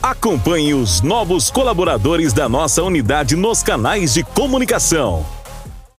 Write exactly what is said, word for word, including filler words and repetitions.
Acompanhe os novos colaboradores da nossa unidade nos canais de comunicação.